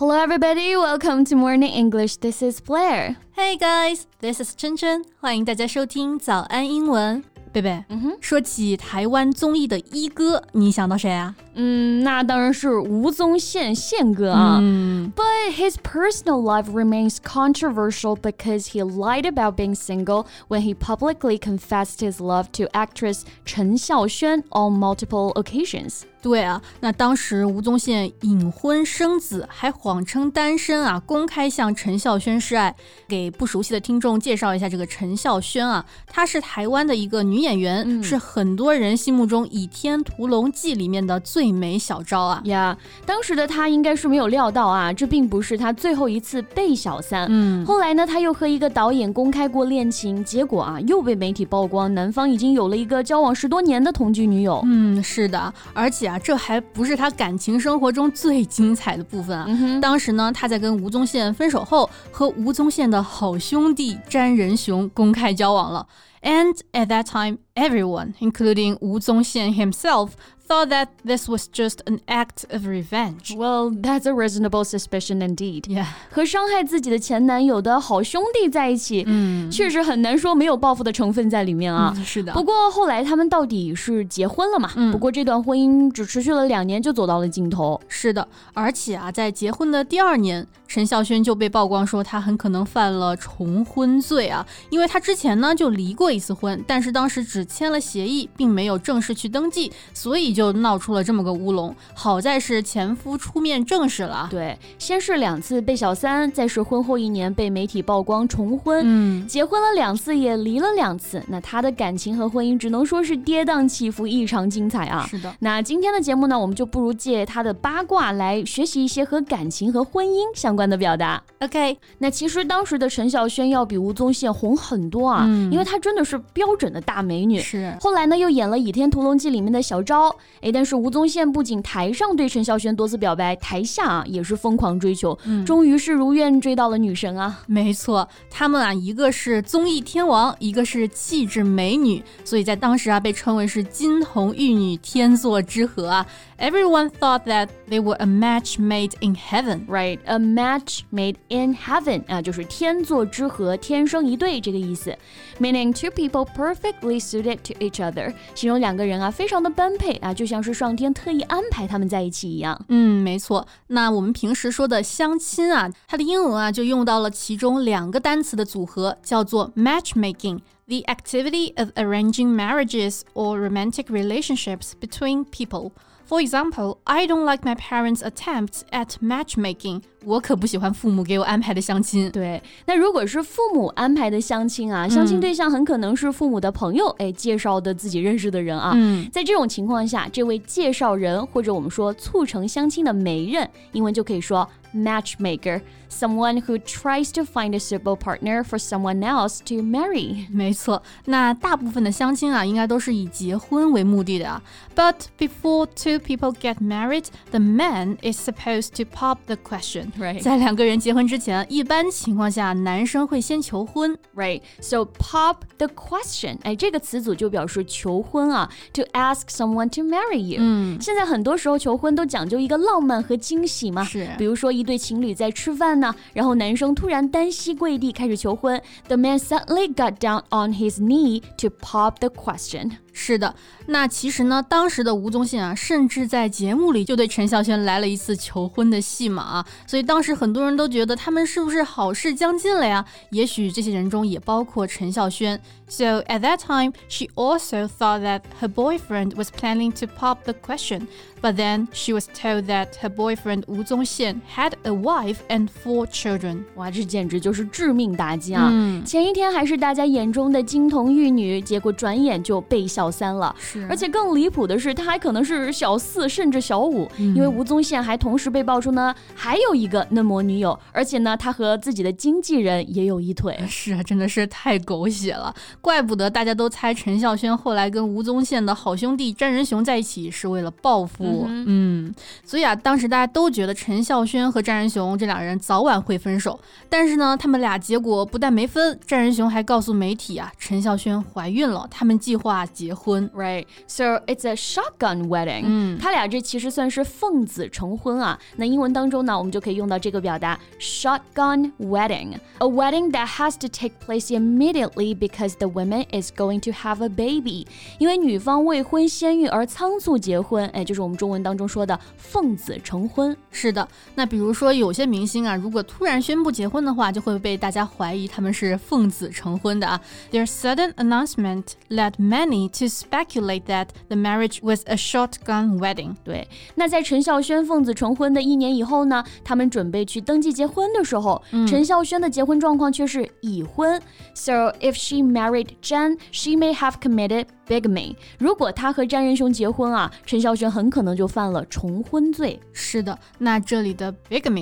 Hello everybody, welcome to Morning English. This is Blair. Hey guys, this is 琛琛，欢迎大家收听早安英文。贝贝，说起台湾综艺的一哥，你想到谁啊？ 那当然是吴宗宪宪哥啊。But his personal life remains controversial because he lied about being single when he publicly confessed his love to actress 陈孝萱 on multiple occasions. 对啊，那当时吴宗宪隐婚生子，还谎称单身啊，公开向陈孝萱示爱。给不熟悉的听众介绍一下这个陈孝萱啊，她是台湾的一个女演员，是很多人心目中《倚天屠龙记》里面的最美小昭啊。 当时的她应该是没有料到啊，这并不是她最后一次被小三。后来呢，她又和一个导演公开过恋情，结果啊，又被媒体曝光，男方已经有了一个交往10多年的同居女友。 是的，而且啊，这还不是他感情生活中最精彩的部分啊。当时呢，他在跟吴宗宪分手后，和吴宗宪的好兄弟詹仁雄公开交往了。And at that time, everyone, including 吴宗宪 himself, thought that this was just an act of revenge. Well, that's a reasonable suspicion indeed. Yeah. 和伤害自己的前男友的好兄弟在一起，确实很难说没有报复的成分在里面啊。 是的。 不过后来他们到底是结婚了嘛？不过这段婚姻只持续了2年就走到了尽头。 是的，而且啊，在结婚的第2年，陈孝萱就被曝光说他很可能犯了重婚罪啊，因为他之前呢就离过1次婚，但是当时只签了协议，并没有正式去登记，所以就闹出了这么个乌龙。好在是前夫出面证实了。 对，先是2次被小三，再是婚后1年被媒体曝光重婚，结婚了2次也离了2次，那他的感情和婚姻只能说是跌宕起伏，异常精彩啊。 是的。 那今天的节目呢，我们就不如借他的八卦来学习一些和感情和婚姻相关的表达。 OK， 那其实当时的陈孝萱要比吴宗宪红很多啊，因为她真的是标准的大美女。 是。 后来呢，又演了《倚天屠龙记》里面的小昭。但是吴宗宪不仅台上对陈孝萱多次表白，台下啊也是疯狂追求，终于是如愿追到了女神啊。 没错，他们啊一个是综艺天王，一个是气质美女，所以在当时啊被称为是金童玉女天作之合啊。Everyone thought that they were a match made in heaven. Right, a match made in heaven 啊，就是天作之合，天生一对这个意思。Meaning two people perfectly suited to each other， 形容2个人啊非常的般配啊，就像是上天特意安排他们在一起一样。 没错。那我们平时说的相亲啊，它的英文啊就用到了其中2个单词的组合，叫做 matchmaking。The activity of arranging marriages or romantic relationships between people.For example, I don't like my parents' attempts at matchmaking. 我可不喜欢父母给我安排的相亲。 对，那如果是父母安排的相亲啊，相亲对象很可能是父母的朋友，介绍的自己认识的人啊。在这种情况下，这位介绍人或者我们说促成相亲的媒人，英文就可以说 matchmaker, someone who tries to find a suitable partner for someone else to marry. 没错，那大部分的相亲啊，应该都是以结婚为目的的啊。But before two people get married, the man is supposed to pop the question.Right. 在2个人结婚之前，一般情况下，男生会先求婚。 Right, so pop the question. 这个词组就表示求婚啊 ，to ask someone to marry you. 现在很多时候求婚都讲究一个浪漫和惊喜嘛， 是。 比如说一对情侣在吃饭呢，然后男生突然单膝跪地开始求婚 ，the man suddenly got down on his knee to pop the question. 是的，那其实呢，当时的吴宗宪啊，甚至在节目里就对陈孝萱来了一次求婚的戏码啊，所以当时很多人都觉得他们是不是好事将近了呀？也许这些人中也包括陈孝萱。So at that time, she also thought that her boyfriend was planning to pop the question, but then she was told that her boyfriend 吴宗宪 had a wife and 4 children. 哇，这简直就是致命打击啊！前一天还是大家眼中的金童玉女，结果转眼就被小三了。而且更离谱的是，她还可能是小4甚至小5，因为吴宗宪还同时被爆出呢还有一个嫩模女友，而且呢他和自己的经纪人也有一腿。 是啊，真的是太狗血了。怪不得大家都猜陈孝萱后来跟吴宗宪的好兄弟詹仁雄在一起是为了报复。所以啊，当时大家都觉得陈孝萱和詹仁雄这2人早晚会分手，但是呢，他们俩结果不但没分，詹仁雄还告诉媒体啊，陈孝萱怀孕了，他们计划结结婚。 Right, so it's a shotgun wedding. 他俩这其实算是奉子成婚啊。那英文当中呢，我们就可以用到这个表达 shotgun wedding. A wedding that has to take place immediately because the woman is going to have a baby. 因为女方未婚先孕而仓促结婚，就是我们中文当中说的奉子成婚。 是的，那比如说有些明星啊，如果突然宣布结婚的话，就会被大家怀疑他们是奉子成婚的啊。Their sudden announcement led many to speculate that the marriage was a shotgun wedding. 对，那在陈孝萱奉子成婚的1年以后呢，他们准备去登记结婚的时候，陈孝萱的结婚状况却是已婚。So if she married Zhan, she may have committed bigamy. 如果她和詹仁雄结婚啊，陈孝萱很可能就犯了重婚罪。 是的，那这里的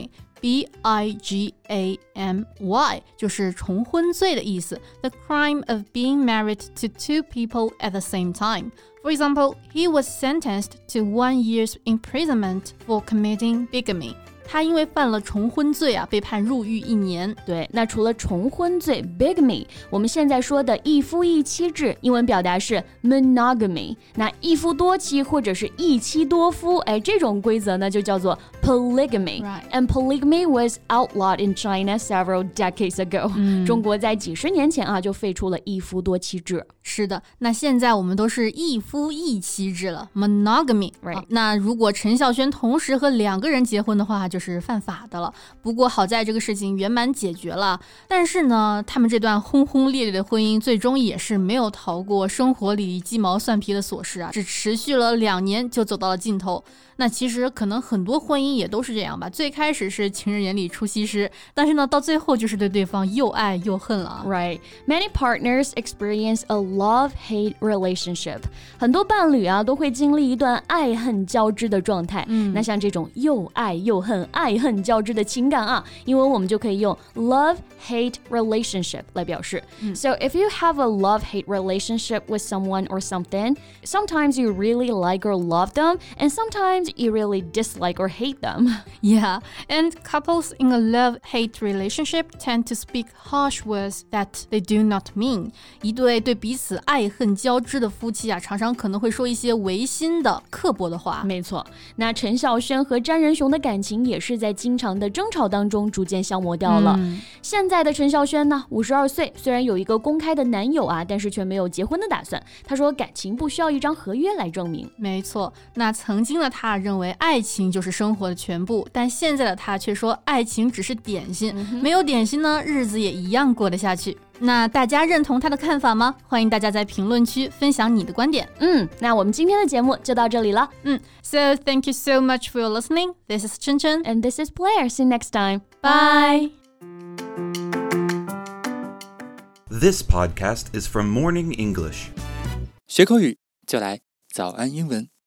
bigamy。Bigamy 就是重婚罪的意思 The crime of being married to two people at the same time. For example, he was sentenced to 1 year's imprisonment for committing bigamy. 他因为犯了重婚罪啊，被判入狱1年。 对，那除了重婚罪 bigamy， 我们现在说的一夫一妻制，英文表达是 monogamy。那一夫多妻或者是一妻多夫，这种规则呢就叫做 polygamy。Right. And polygamy was outlawed in China several decades ago. 中国在几十年前啊就废除了一夫多妻制。 是的，那现在我们都是一夫一妻制了 monogamy。Right. 那如果陈孝萱同时和2个人结婚的话，就是犯法的了。不过好在这个事情圆满解决了，但是呢，他们这段轰轰烈烈的婚姻最终也是没有逃过生活里鸡毛蒜皮的琐事啊，只持续了2年就走到了尽头。那其实可能很多婚姻也都是这样吧，最开始是情人眼里出西施，但是呢，到最后就是对对方又爱又恨了。 Right. Many partners experience a love-hate relationship. 很多伴侣啊都会经历一段爱恨交织的状态。那像这种又爱又恨、爱恨交织的情感啊，英文我们就可以用 love-hate relationship 来表示。So if you have a love-hate relationship with someone or something, sometimes you really like or love them, and sometimes you really dislike or hate them. Yeah, and couples in a love-hate relationship tend to speak harsh words that they do not mean. 一对对彼此爱恨交织的夫妻啊，常常可能会说一些违心的、刻薄的话。 没错，那陈孝萱和詹仁雄的感情也是在经常的争吵当中逐渐消磨掉了。现在的陈孝萱呢，52岁，虽然有一个公开的男友啊，但是却没有结婚的打算。他说感情不需要一张合约来证明。 没错，那曾经的他认为爱情就是生活的全部，但现在的他却说爱情只是点心，没有点心呢，日子也一样过得下去。那大家认同他的看法吗？欢迎大家在评论区分享你的观点。 那我们今天的节目就到这里了。 So thank you so much for your listening. This is Chen Chen. And this is Blair. See you next time. Bye. This podcast is from Morning English. 学口语就来早安英文。